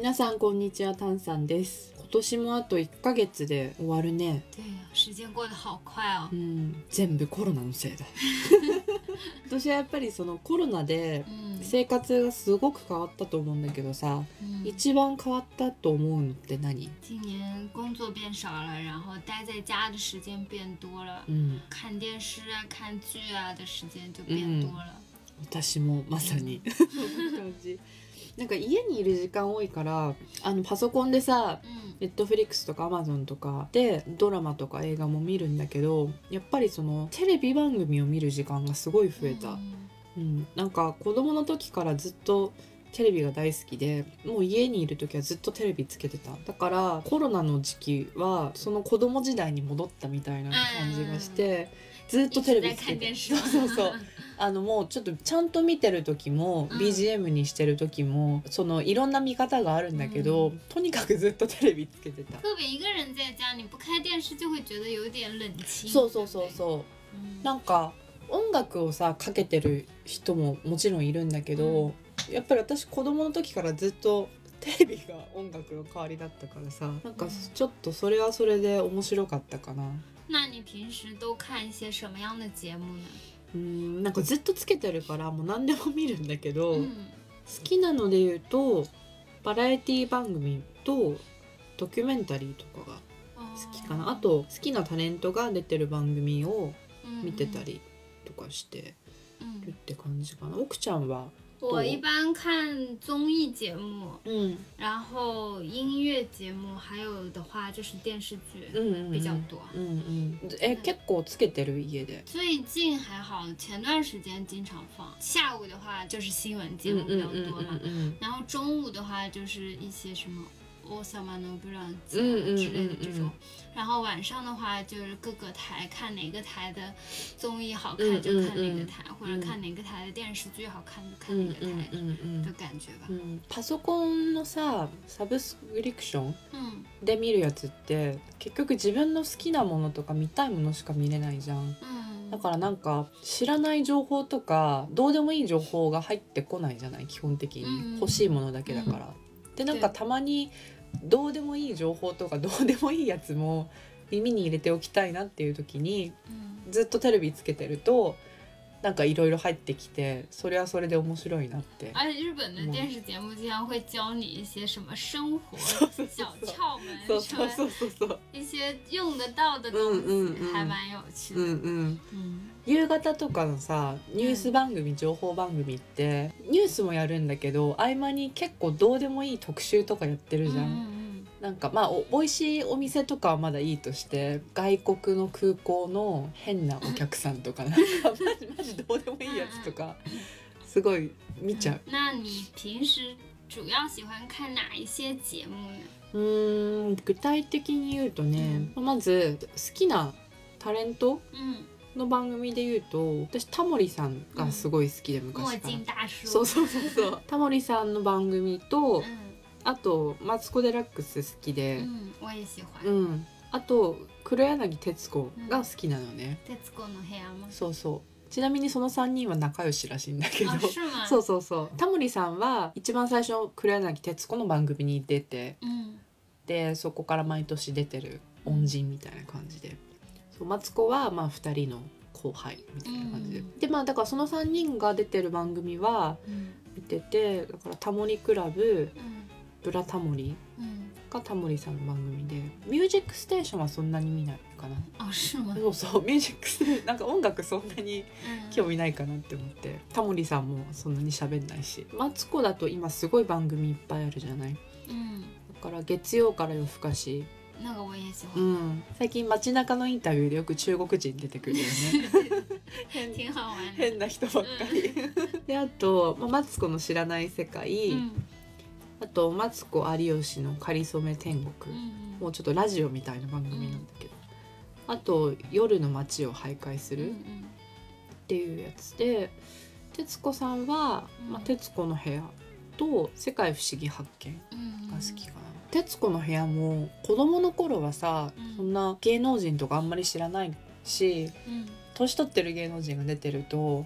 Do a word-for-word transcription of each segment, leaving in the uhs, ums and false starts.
皆さんこんにちは、タンさんです。今年もあといっかげつで終わるね。 对呀，时間過得好快哦。 うん、全部コロナのせいだ。私はやっぱりそのコロナで生活がすごく変わったと思うんだけどさ、 嗯、 一番変わったと思うのって何？ 今年工作变少了，然後待在家的時間變多了、 うん、 看電視啊看劇啊的時間就變多了、 うん、私もまさにそんな感じ。なんか家にいる時間多いからあのパソコンでさ、ネットフリックスとかアマゾンとかでドラマとか映画も見るんだけど、やっぱりそのテレビ番組を見る時間がすごい増えた、うんうん、なんか子供の時からずっとテレビが大好きで、もう家にいる時はずっとテレビつけてた。だからコロナの時期はその子供時代に戻ったみたいな感じがして、ずっとテレビつけて、そうそうそうあのもうちょっとちゃんと見てる時も、うん、ビージーエム にしてる時もそのいろんな見方があるんだけど、うん、とにかくずっとテレビつけてた。 特別一個人在家你不開電視就會覺得有點冷清。 そうそうそうそう、うん、なんか音楽をさかけてる人ももちろんいるんだけど、うん、やっぱり私子供の時からずっとテレビが音楽の代わりだったからさ、なんかちょっとそれはそれで面白かったかな。 那你平時都看一些什麼樣的節目呢？ うーん、なんかずっとつけてるからもう何でも見るんだけど、うん、好きなので言うとバラエティ番組とドキュメンタリーとかが好きかな。 あ, あと好きなタレントが出てる番組を見てたりとかしてるって感じかな、うんうん、奥ちゃんは？ 我一般看综艺节目、 嗯， 然后音乐节目，还有的话就是电视剧比较多。 嗯嗯，え、結構つけてる家で？ 最近还好，前段时间经常放。下午的话就是新闻节目比较多嘛，然后中午的话就是一些什么王様のブランチ之类的这种，然后晚上的话就是各个台看哪个台的综艺好看就看哪个台，嗯嗯嗯、或者看哪个台的電視劇好看就看哪个台的感觉吧。 うんうんうん、パソコンのさサブスクリプションで見るやつって、うん、結局自分の好きなものとか見たいものしか見れないじゃん、うん、だからなんか知らない情報とかどうでもいい情報が入ってこないじゃない、基本的に、うん、欲しいものだけだから、うん、でなんかたまにどうでもいい情報とかどうでもいいやつも耳に入れておきたいなっていう時に、うん、ずっとテレビつけてるとなんかいろいろ入ってきて、それはそれで面白いなって。 而且日本的電視節目經常會教你一些什麼生活小竅門， そうそうそうそうそう、 一些用得到的東西、うんうんうん、還蠻有趣的、うんうんうん、夕方とかのさニュース番組、うん、情報番組ってニュースもやるんだけど合間に結構どうでもいい特集とかやってるじゃん、うんうん、なんかまあお美味しいお店とかはまだいいとして、外国の空港の変なお客さんとかなんかマジマジどうでもいいやつとかすごい見ちゃう。 那你平時主要喜歡看哪一些節目呢？ うーん、具体的に言うとね、うん、まず好きなタレント、うんの番組で言うと、私タモリさんがすごい好きで、昔から。そうそうそうそう。タモリさんの番組と、うん、あとマツコ・デラックス好きで、 うん、我也喜欢。 うん。あと黒柳徹子が好きなのね。 徹子の部屋も。 そうそう。ちなみにそのさんにんは仲良しらしいんだけど、そうそうそう。タモリさんは一番最初黒柳徹子の番組に出て、うん、でそこから毎年出てる恩人みたいな感じで。マツコはまあふたりの後輩みたいな感じで、うん、でまあだからそのさんにんが出てる番組は見てて、だからタモリクラブ、うん、ブラタモリがタモリさんの番組で、ミュージックステーションはそんなに見ないかな。 あ、そう。 そうそう、ミュージックステーションなんか音楽そんなに興味ないかなって思って、うん、タモリさんもそんなに喋んないし、マツコだと今すごい番組いっぱいあるじゃない、うん、だから月曜から夜更かし、 なんか我也喜欢、 うん、最近街中のインタビューでよく中国人出てくるよね変, 変な人ばっかり、うん、であと、まあ、マツコの知らない世界、うん、あとマツコ有吉のかりそめ天国、うんうん、もうちょっとラジオみたいな番組なんだけど、うん、あと夜の街を徘徊するっていうやつで、徹子さんは、まあ、徹子の部屋と世界不思議発見が好きかな、うんうん、徹子の部屋も子供の頃はさ、うん、そんな芸能人とかあんまり知らないし、うん、年取ってる芸能人が出てると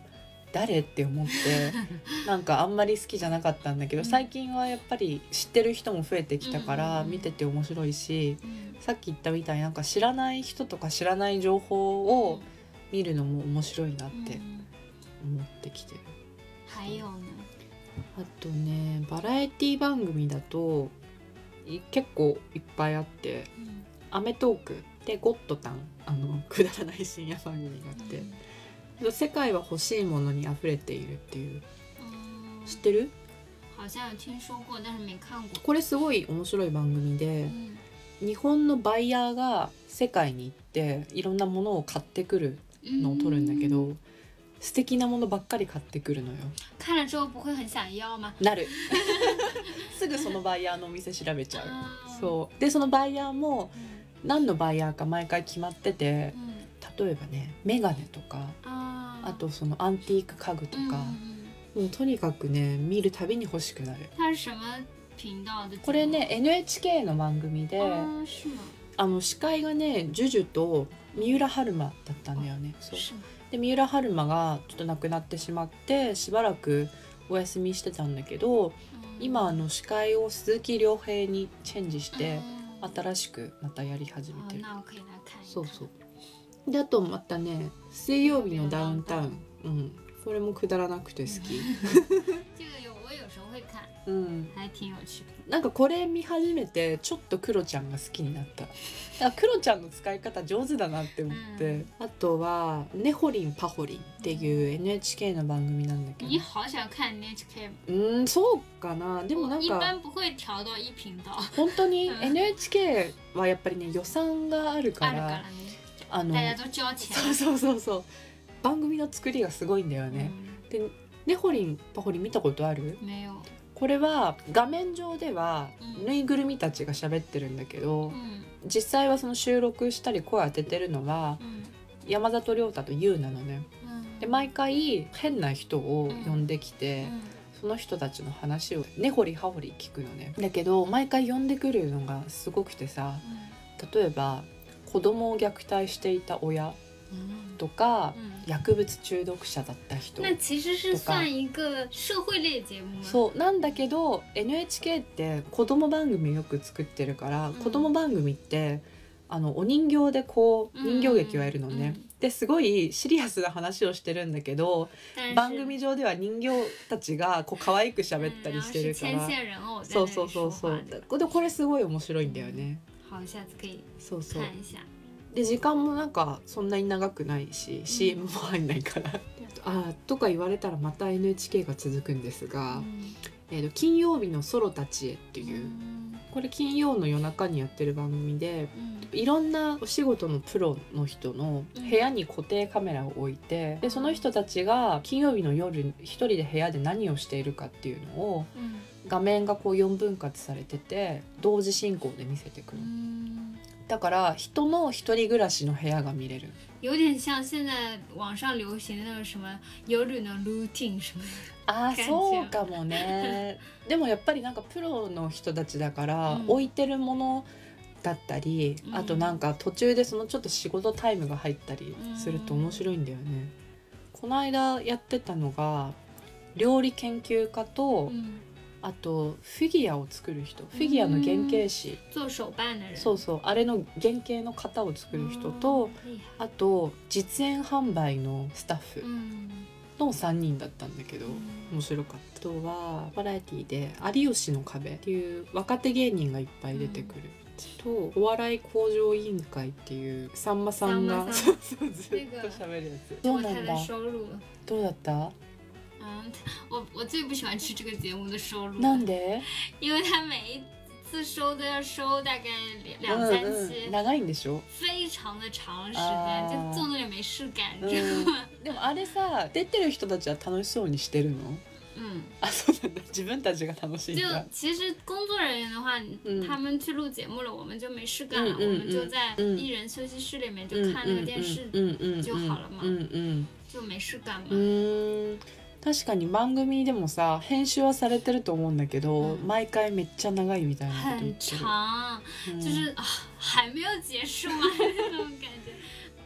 誰って思ってなんかあんまり好きじゃなかったんだけど、最近はやっぱり知ってる人も増えてきたから見てて面白いし、さっき言ったみたいになんか知らない人とか知らない情報を見るのも面白いなって思ってきてる。 还有呢、 あとねバラエティ番組だと結構いっぱいあって、うん、アメトークでゴッドタン、あのくだらない深夜番組があって、うん、世界は欲しいものに溢れているっていう、うん、知ってる？ 好像有听说过但是没看过。 これすごい面白い番組で、うん、日本のバイヤーが世界に行っていろんなものを買ってくるのを撮るんだけど、うん、素敵なものばっかり買ってくるのよ。 看了之後不会很想要吗？ なるすぐそのバイヤーのお店調べちゃう。そうでそのバイヤーも何のバイヤーか毎回決まってて、うん、例えばねメガネとか あ, あとそのアンティーク家具とか、うん、もうとにかくね見るたびに欲しくなる。これね エヌエイチケー の番組で、ああの司会がねジュジュと三浦春馬だったんだよね。そうで三浦春馬がちょっと亡くなってしまってしばらくお休みしてたんだけど、うん、今あの司会を鈴木亮平にチェンジして、うん、新しくまたやり始めてる。そうそうであとまたね水曜日のダウンタウン、うん、これもくだらなくて好きうん、なんかこれ見始めてちょっとクロちゃんが好きになった。だからクロちゃんの使い方上手だなって思って、うん、あとはねほりんぱほりんっていう エヌエイチケー の番組なんだけど。 你好想看 エヌエイチケー。 うんそうかな。でもなんか一般不会調到一頻道。 本当に エヌエイチケー はやっぱりね予算があるから。あるからね。あの大家都交錢。 そうそうそうそう。番組の作りがすごいんだよね。うん、でねほりんぱほりん見たことある？ 没有。 これは画面上ではぬいぐるみたちが喋ってるんだけど、うん、実際はその収録したり声当ててるのは、うん、山里亮太と優なのね、うん、で毎回変な人を呼んできて、うん、その人たちの話を根掘り葉掘り聞くのね。だけど毎回呼んでくるのがすごくてさ、例えば子供を虐待していた親とか、うん、薬物中毒者だった人とか。 其实是算一个社会类節目。 そうなんだけど エヌエイチケー って子供番組よく作ってるから、うん、子供番組ってあのお人形でこう人形劇をやるのね、うんうん、ですごいシリアスな話をしてるんだけど、番組上では人形たちがこう可愛く喋ったりしてるから、うん、そうそうそうそうでこれすごい面白いんだよね。 好，下次可以そうそう看一下。 で時間もなんかそんなに長くないし、うん、シーエム も入んないからあとか言われたらまた エヌエイチケー が続くんですが、うん、えー、と金曜日のソロたちへっていう、うん、これ金曜の夜中にやってる番組で、うん、いろんなお仕事のプロの人の部屋に固定カメラを置いて、うん、でその人たちが金曜日の夜一人で部屋で何をしているかっていうのを、うん、画面がこうよんぶん割されてて同時進行で見せてくる。だから人の一人暮らしの部屋が見れる。 有点像现在网上流行的那个什么夜のルーティン什么。 あーそうかもね。でもやっぱりなんかプロの人たちだから、うん、置いてるものだったり、うん、あとなんか途中でそのちょっと仕事タイムが入ったりすると面白いんだよね。うん、この間やってたのが料理研究家と、うん、あとフィギュアを作る人、フィギュアの原型師、 做手办的人、 そうそうあれの原型の型を作る人と、あと実演販売のスタッフのさんにんだったんだけど、面白かった。あとはバラエティで有吉の壁っていう若手芸人がいっぱい出てくる、とお笑い向上委員会っていうさんまさんがそうそうずっと喋るやつ。どうなんだ？どうだった？ 嗯，我我最不喜欢吃这个节目的收入。 なんで？ 因为他每一次收都要收大概两三期， うんうん、長いんでしょ？ 非常的長時間，就做那点没事感，你知道吗？ でもあれさ、出てる人たちは楽しそうにしてるの？ 嗯， 啊，そうなんだ。自分たちが楽しいんだ。 就其实工作人员的话，嗯、他们去录节目了，我们就没事干了，嗯、我们就在艺人休息室里面就看那个电视就好了嘛， 嗯嗯， 就没事干嘛。 嗯。確かに番組でもさ編集はされてると思うんだけど、うん、毎回めっちゃ長いみたいなこと言ってる。 很長、うん、就是、啊、还没有結束吗那種感覺。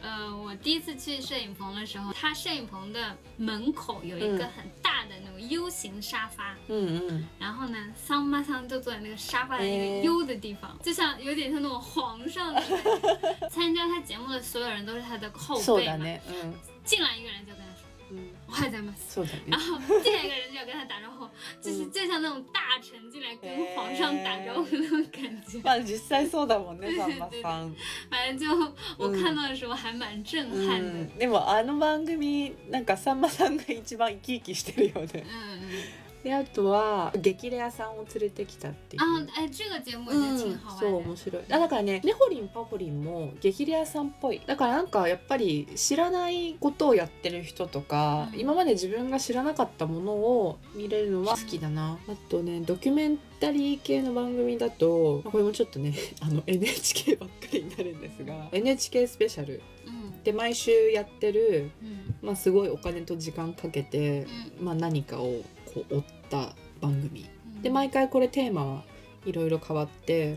呃，我第一次去摄影棚的时候，它摄影棚的门口有一个很大的那种 U 型沙发， 嗯嗯， 然后呢，桑妈桑就坐在那个沙发的一个 U 的地方，就像有点像那种皇上的感觉。参加他节目的所有人都是他的后辈嘛， ね、うん、 进来一个人就跟他说。嗯，我还在吗？ そうだね。 然后进来一个人就要跟他打招呼，就是就像那种大臣进来跟皇上打招呼那种感觉。 まあ実際そうだもんね、さんまさん。 反正就我看到的时候还蛮震撼的。 うん、でもあの番組なんかさんまさんが一番生き生きしてるよね。うんうん。であとは激レアさんを連れてきたっていう。 あ、え、这个节目也挺好玩的。 そう面白い。だからね、ねほりんぱほりんも激レアさんっぽい。だからなんかやっぱり知らないことをやってる人とか、うん、今まで自分が知らなかったものを見れるのは好きだな。あとね、ドキュメンタリー系の番組だと、これもちょっとね、あの エヌエイチケー ばっかりになるんですが、エヌエイチケー スペシャル。で毎週やってる、まあ、すごいお金と時間かけて、まあ、何かをこう追った番組で、毎回これテーマはいろいろ変わって、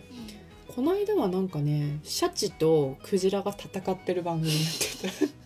この間はなんかね、シャチとクジラが戦ってる番組やってた。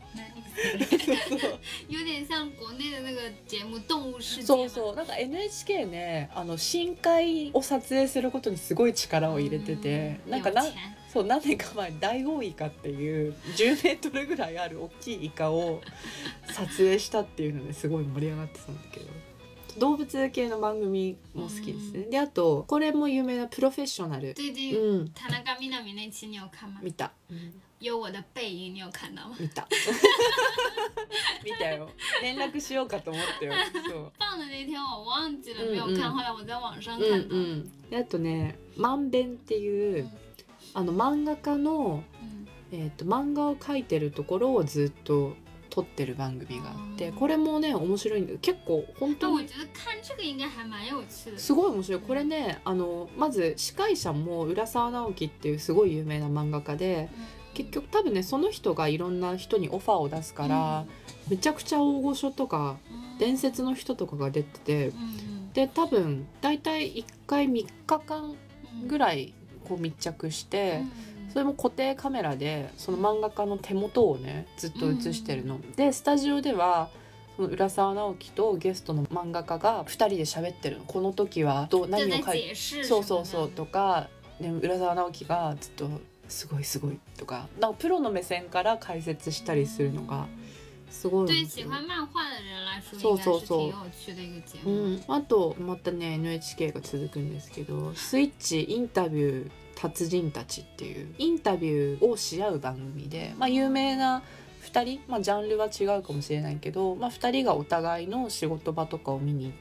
有点像国内的那个节目《动物世界》。 そうそう、なんか エヌエイチケー ね、あの深海を撮影することにすごい力を入れてて、なんかなそう何年か前にダイオウイカっていうじゅうメートルぐらいある大きいイカを撮影したっていうのですごい盛り上がってたんだけど、動物系の番組も好きですね。であとこれも有名なプロフェッショナル。 最近、うん、田中みな実那期你有看吗？ 見た。うん有我的背影，你有看到吗？ 見た。見たよ。連絡しようかと思ったよ。そう。 放的那天我忘记了没有看，後来我在網上看到。 うんうん。であとね、まんべんっていう、うん、あの漫画家の、うん、えっと漫画を描いてるところをずっと撮ってる番組があって、これもね面白いんだけど、結構本当にすごい面白い。これね、あのまず司会者も浦沢直樹っていうすごい有名な漫画家で、結局多分ねその人がいろんな人にオファーを出すから、めちゃくちゃ大御所とか伝説の人とかが出てて、で多分だいたいいっかいみっかかんぐらいこう密着して、それも固定カメラでその漫画家の手元をねずっと映してるの、うん、でスタジオではその浦沢直樹とゲストの漫画家がふたりで喋ってるの。この時はどう何を書いてそうそうそうとか、で浦沢直樹がずっとすごいすごいとか、なんかプロの目線から解説したりするのがすごい。 对喜欢漫画的人来说应该是挺有趣的一个节目。 うん、あとまたね エヌエイチケー が続くんですけど、スイッチインタビュー達人たちっていうインタビューをし合う番組で、まあ、有名なふたり、まあ、ジャンルは違うかもしれないけど、まあ、ふたりがお互いの仕事場とかを見に行って、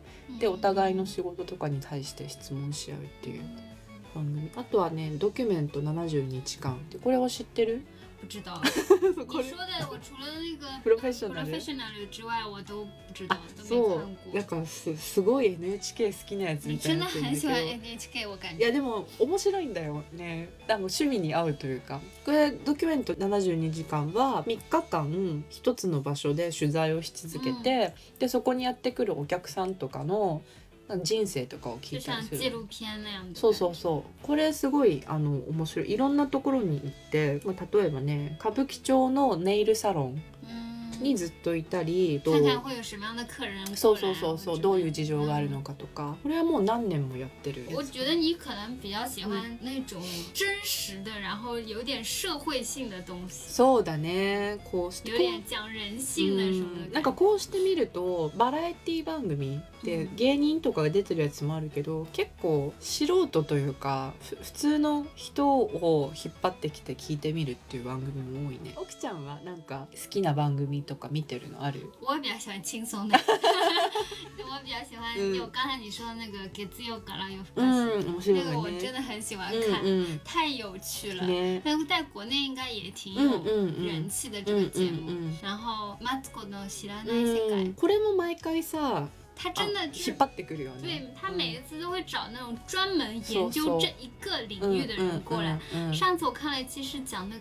でお互いの仕事とかに対して質問し合うっていう番組。あとはねドキュメントななじゅうにちかんって、これは知ってる？ 不知道。你说的我除了那个 professional 之外我都不知道，都没看そう过。 だからすすごい エヌエイチケー 好きなやつみたいになってるんだけど。 真的很喜欢 エヌエイチケー 我感觉。 いやでも面白いんだよね。でも趣味に合うというか、これドキュメントななじゅうにじかんはみっかかん一つの場所で取材をし続けて、うん、でそこにやってくるお客さんとかの人生とかを聞いたりする。 紀录片那样的。 そうそうそう。これすごいあの面白い。いろんなところに行って、まあ、例えばね歌舞伎町のネイルサロンにずっといたり、 看看会有什么样的客人过来。 そうそうそうそう、どういう事情があるのかとか、これはもう何年もやってる。 我觉得你可能比较喜欢那种真实的，然后有点社会性的东西。 そうだね。こう有点讲人性的什么的。 なんかこうしてみるとバラエティ番組で芸人とかが出てるやつもあるけど、結構素人というか普通の人を引っ張ってきて聞いてみるっていう番組も多いね。奥ちゃんはなんか好きな番組とか見てるのある？ 我比较喜欢轻松的。我比较喜欢有刚才你说的那个月曜から夜更かし， 嗯，面白いね。 那个我真的很喜欢看， 嗯嗯、 太有趣了。 ね、 但是在国内应该也挺有人气的这个节目。然后マツコの知らない世界， これも毎回さ。 他真的引っ張ってくるよね。 对，他每一次都会找那种专门研究这一个领域的人过来。上次我看了一期是讲那个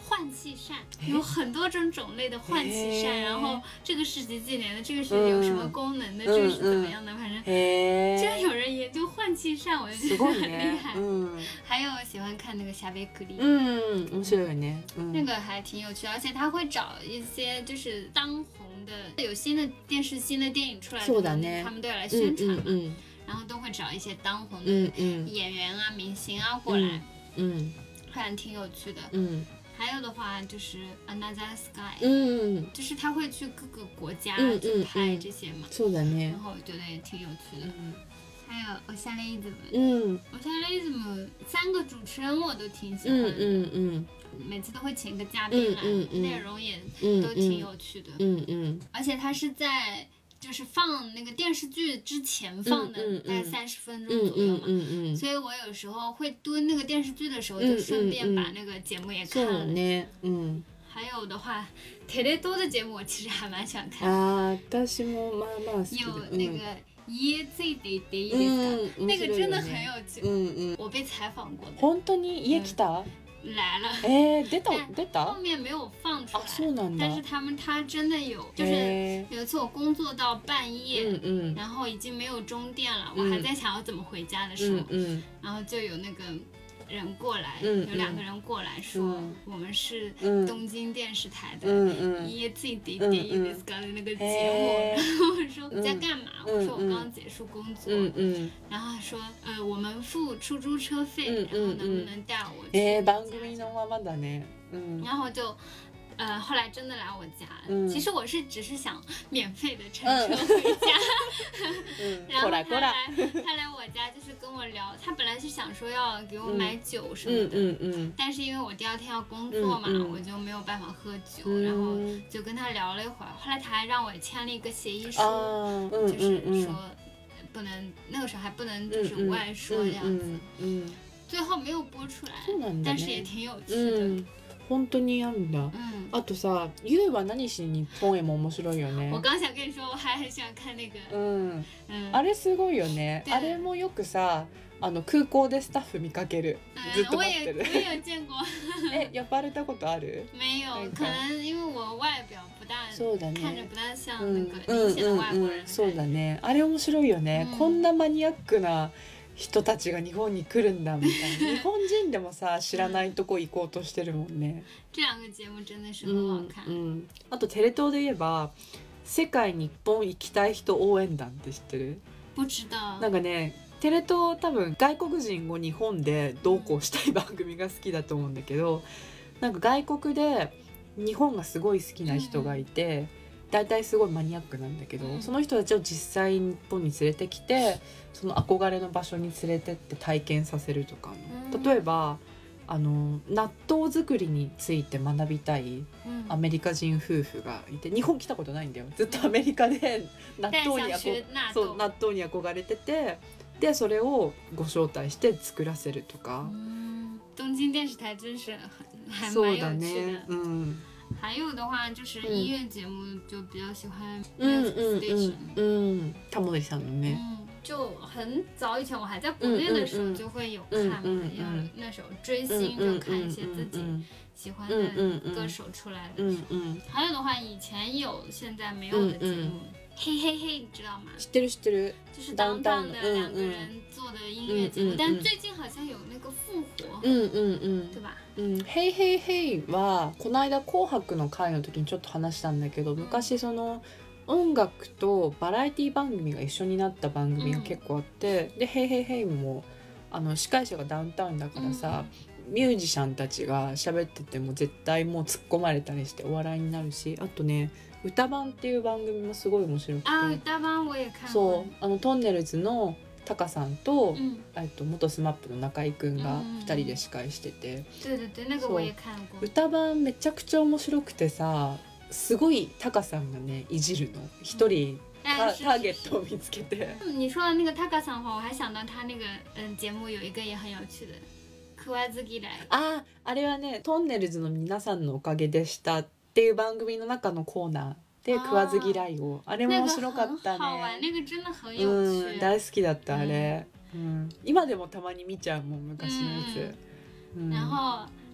换气扇，有很多种种类的换气扇，然后这个是几几年的，这个是有什么功能的，这个是怎么样的，反正居然有人研究换气扇，我就觉得很厉害。嗯，还有喜欢看那个夏贝克利， 嗯，面白いね， 那个还挺有趣的，而且他会找一些就是当红的，有新的电视、新的电影出来的，他们都要来宣传嘛，然后都会找一些当红的演员啊、明星啊过来，嗯，还挺有趣的，嗯。还有的话就是 Another Sky， 嗯，就是他会去各个国家去拍这些嘛， そうだね。 然后我觉得也挺有趣的。嗯，还有おしゃれイズム，嗯，おしゃれイズム三个主持人我都挺喜欢的，嗯嗯，每次都会请个嘉宾来，内容也都挺有趣的，嗯嗯，而且他是在。就是放那个电视剧之前放的，大概三十分钟左右嘛，嗯嗯嗯、所以我有时候会蹲那个电视剧的时候，就顺便把那个节目也看了。嗯嗯、还有的话，テレ東的节目我其实还蛮喜欢看的。 啊，私もまあまあ好き。 有那个家ついていっていいですか？那个真的很有趣。嗯嗯，我被采访过的。 本当に家来た？ 来了， 哎，出た出た， 后面没有放出来。 啊，そうなんだ。 但是他们他真的有，就是有一次我工作到半夜，嗯嗯，然后已经没有中电了，我还在想要怎么回家的时候，嗯，然后就有那个人过来，有两个人过来说我们是东京电视台的家ついていっていいですか的那个节目，然后我说你在干嘛？我说我刚刚结束工作，嗯嗯，然后他说呃我们付出租车费，然后能不能带我去？ え、番組のままだね。 嗯，然后就。呃，后来真的来我家，嗯、其实我是只是想免费的乘车回家，嗯、然后他来他来我家就是跟我聊，他本来是想说要给我买酒什么的，嗯嗯嗯、但是因为我第二天要工作嘛，嗯嗯、我就没有办法喝酒，嗯、然后就跟他聊了一会儿，后来他还让我签了一个协议书，嗯、就是说不能那个时候还不能就是外说这样子，嗯嗯、最后没有播出来，ね、但是也挺有趣的。嗯本当にあるんだ、うん、あとさ、ゆうは何しに日本へも面白いよね。 我刚想跟你说我还很喜欢看那个、 うんうん、あれすごいよね。あれもよくさ、あの空港でスタッフ見かける、ずっと待ってる。 我也我也有见过。 え、呼ばれたことある？ 没有，可能因为我外表不大， そうだね、 看着不大像那个明显的外国人、うんうんうん。 そうだね。あれ面白いよね、うん。こんなマニアックな人たちが日本に来るんだみたいな。日本人でもさ知らないとこ行こうとしてるもんね。 这两个节目真的是很好看。 うんうん、あとテレ東で言えば世界日本行きたい人応援団って知ってる？ 不知道。 なんかね、テレ東多分外国人を日本でどうこうしたい番組が好きだと思うんだけど、なんか外国で日本がすごい好きな人がいて。うん、大体すごいマニアックなんだけど、うん、その人たちを実際日本に連れてきてその憧れの場所に連れてって体験させるとか、うん、例えばあの納豆作りについて学びたいアメリカ人夫婦がいて、日本来たことないんだよ。ずっとアメリカで納豆に憧そう納豆に憧れてて、でそれをご招待して作らせるとか。 東京電視台真是还蛮有趣的。そうだね。うん。还有的话就是音乐节目就比较喜欢 Music Station， 嗯，タモリさんのね， 就很早以前我还在国内的时候就会有看嘛，要那时候追星就看一些自己喜欢的歌手出来的时候，还有的话以前有现在没有的节目。嘿嘿嘿，你知道吗？ 知ってる知ってる。 就是当当的两个人做的音乐节目，但最近好像有那个复活，嗯嗯嗯，对吧？ うん、ヘイヘイヘイはこの間紅白の会の時にちょっと話したんだけど、昔その音楽とバラエティ番組が一緒になった番組が結構あって、でヘイヘイヘイもあの司会者がダウンタウンだからさ、ミュージシャンたちが喋ってても絶対もう突っ込まれたりしてお笑いになるし、あとね。歌番っていう番組もすごい面白くて、 あ、歌番我也看過。 そう、あのトンネルズのタカさんと、うん、えっと元スマップの中居くんがふたりで司会してて、 对对对、那个我也看過。 歌番めちゃくちゃ面白くてさ、すごいタカさんがねいじるの、一人、うん、タ, ターゲットを見つけて。 你说的那个タカさんは我还想到他那个嗯节目有一个也很有趣的。食わず嫌い。 あ、あれはねトンネルズの皆さんのおかげでしたっていう番組の中のコーナーで食わず嫌いを、あれも面白かったね。うん、大好きだったあれ、うんうん、今でもたまに見ちゃうもん昔のやつ、 うん、然后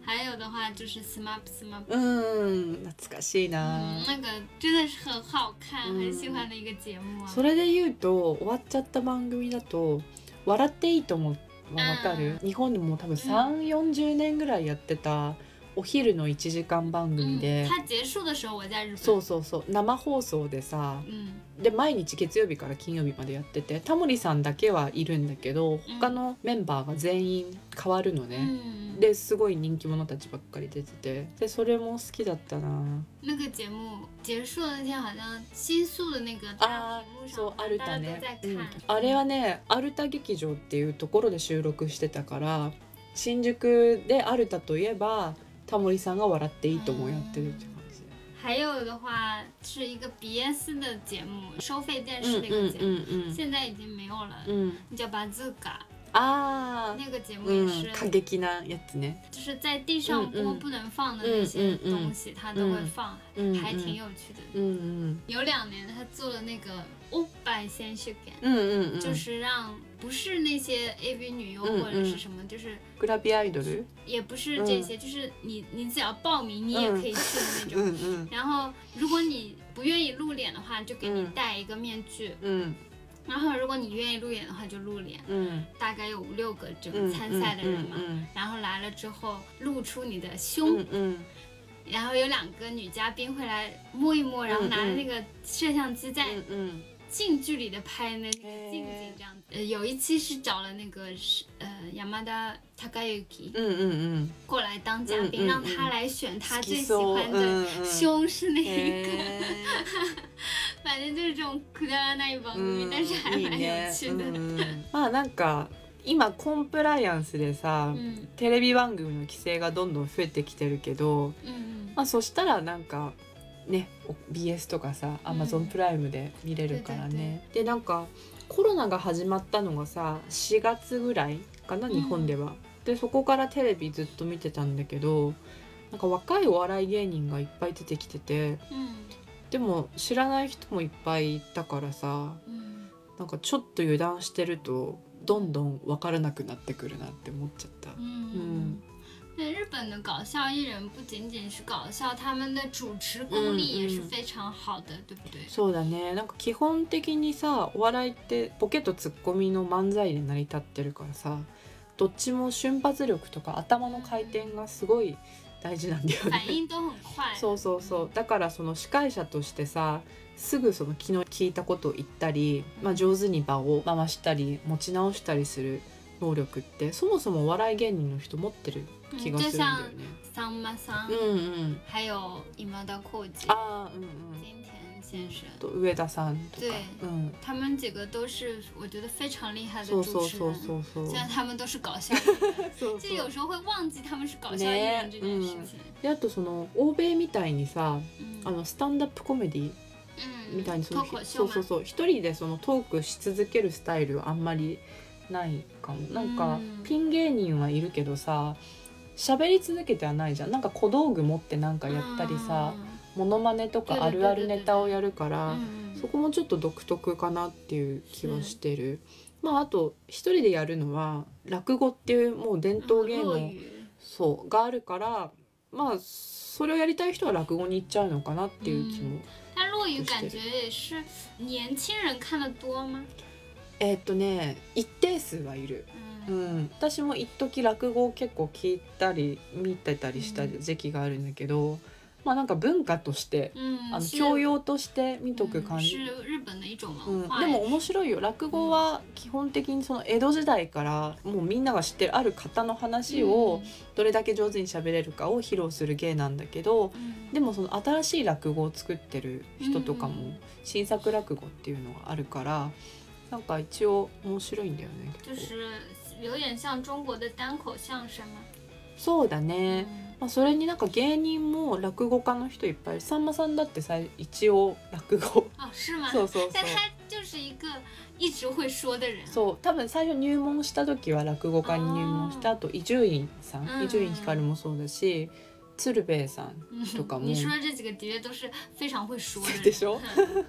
还有的话就是 S M A P S M A P。 うん懐かしいな、 嗯，那个真的是很好看，很喜欢的一个节目啊。 それで言うと終わっちゃった番組だと「笑っていいとも」はわかる？日本でも多分さんじゅう、よんじゅうねんぐらいやってたお昼のいちじかん番組で、 它結束的時候我在日本。 そうそうそう生放送でさ、 うん、 で毎日月曜日から金曜日までやってて、タモリさんだけはいるんだけど他のメンバーが全員変わるのね、 うん、 ですごい人気者たちばっかり出てて、でそれも好きだったな。 那个节目结束的那天好像新宿的那个大屏幕上アルタ大家都ね、 在看、 うん、あれはねアルタ劇場っていうところで収録してたから、新宿でアルタといえばタモリさんが笑っていいともやってるって感じ。 还有的话是一个 B S 的节目，收费电视那个节目， 嗯嗯嗯嗯、 现在已经没有了， 嗯、 叫巴兹卡。 あ那个节目也是、 うん、過激なやつね。 就是在地上播不能放的那些东西，他都会放，还挺有趣的。 嗯嗯， 有两年他做了那个おっぱい選手権， 嗯嗯嗯， 就是让不是那些 A V 女优或者是什么，就是グラビアアイドル， 也不是这些，就是你你只要报名，你也可以去的那种。 嗯嗯， 然后如果你不愿意露脸的话，就给你戴一个面具。 嗯。 然后如果你愿意露脸的话就露脸， 嗯， 大概有五六个这个参赛的人嘛， 嗯嗯嗯嗯、 然后来了之后露出你的胸， 嗯嗯、 然后有两个女嘉宾会来摸一摸，然后拿着那个摄像机在近距离的拍那个近景这样子。呃，有一期是找了那个呃山田孝之， 嗯嗯嗯， 过来当嘉宾，嗯嗯嗯、让他来选他最喜欢的胸是哪一个。反正就是这种くだらない番組、但是还蛮有趣的。 まあなんか今コンプライアンスでさ、うん、テレビ番組の規制がどんどん増えてきてるけど、うん、まあそしたらなんかね ビーエス とかさ Amazon プライムで見れるからね、うん、でなんかコロナが始まったのがさしがつぐらいかな日本では、うん、でそこからテレビずっと見てたんだけど、なんか若いお笑い芸人がいっぱい出てきてて、うん、でも知らない人もいっぱいいたからさ、うん、なんかちょっと油断してるとどんどん分からなくなってくるなって思っちゃった。うん、うん对，日本的搞笑艺人不仅仅是搞笑，他们的主持功力也是非常好的，嗯嗯、对不对？ そうだね。なんか基本的にさ、お笑いってボケとツッコミの漫才で成り立ってるからさ、どっちも瞬発力とか頭の回転がすごい大事なんだよね。 反应都很快。 そうそうそう。だからその司会者としてさ、すぐその昨日聞いたことを言ったり、まあ、上手に場を回したり持ち直したりする能力ってそもそもお笑い芸人の人持ってる気がするんだよね。 就像さんまさん、 うんうん、 还有今田耕司、 あ、うんうん、 金田先生、 と上田さんとか、 对、 うん、 他们几个都是我觉得非常厉害的主持人。 そうそうそうそう。 虽然他们都是搞笑艺人，そうそう就有时候会忘記他们是搞笑艺人这件事情。ね、 うん、であとその欧米みたいにさ、うん、あのスタンダップコメディみたいにその、うん、そうそうそう一人でそのトークし続けるスタイルはあんまりないかも。なんかピン芸人はいるけどさ喋り続けてはないじゃん。なんか小道具持ってなんかやったりさ、モノマネとかあるあるネタをやるから、そこもちょっと独特かなっていう気はしてる。まああと一人でやるのは落語っていうもう伝統芸能そうがあるから、まあそれをやりたい人は落語に行っちゃうのかなっていう気も。 但落語感觉也是年轻人看得多吗？ えっとね一定数はいる。うん、私も一時落語を結構聞いたり見てたりした時期があるんだけど、うん、まあなんか文化として、うん、あの教養として見とく感じ、うん、でも面白いよ。落語は基本的にその江戸時代からもうみんなが知ってるある方の話をどれだけ上手に喋れるかを披露する芸なんだけど、うん、でもその新しい落語を作ってる人とかも新作落語っていうのがあるからなんか一応面白いんだよね。 就是有点像中国的单口相声吗？ そうだね、うんまあ、それになんか芸人も落語家の人いっぱいいる。さんまさんだってさ一応落語あ、是吗？ そうそうそう。 但他就是一个一直会说的人。 そう多分最初入門した時は落語家に入門した後伊集院さん、伊集院光もそうだし鶴瓶さんとかも、 你说的这几个的确都是非常会说的人。 でしょ？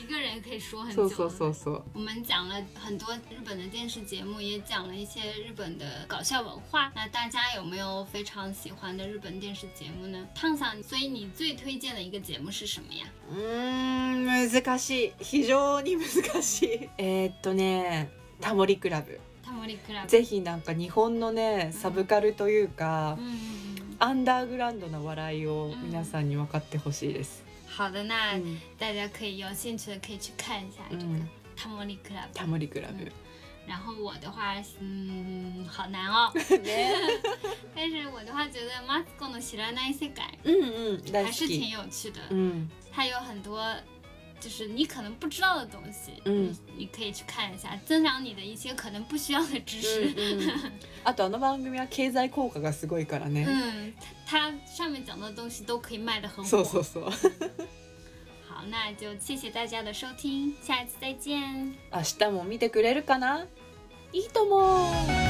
一个人可以说很久。 そうそうそうそう。 我们讲了很多日本的电视节目，也讲了一些日本的搞笑文化。那大家有没有非常喜欢的日本电视节目呢？汤さん，所以你最推荐的一个节目是什么呀？ うーん、難しい。非常に難しい。えーっとね、タモリクラブ。 タモリクラブ。 ぜひなんか日本のね、サブカルというか、 うんうんうん、 アンダーグラウンドな笑いを皆さんに分かってほしいです。 好的，那大家可以有兴趣的可以去看一下这个タモリクラブ。 タモリクラブ。 然后我的话，嗯，好难哦。但是我的话觉得マツコの知らない世界， 嗯嗯， 还是挺有趣的。 嗯， 它有很多就是你可能不知道的东西， 嗯， 你可以去看一下，增长你的一些可能不需要的知识。 嗯嗯、あとあの番組は経済効果がすごいからね。 嗯，它上面讲的东西都可以卖得很火。 そうそうそう。 好，那就谢谢大家的收听，下一次再见。 明日も見てくれるかな？いいと思う。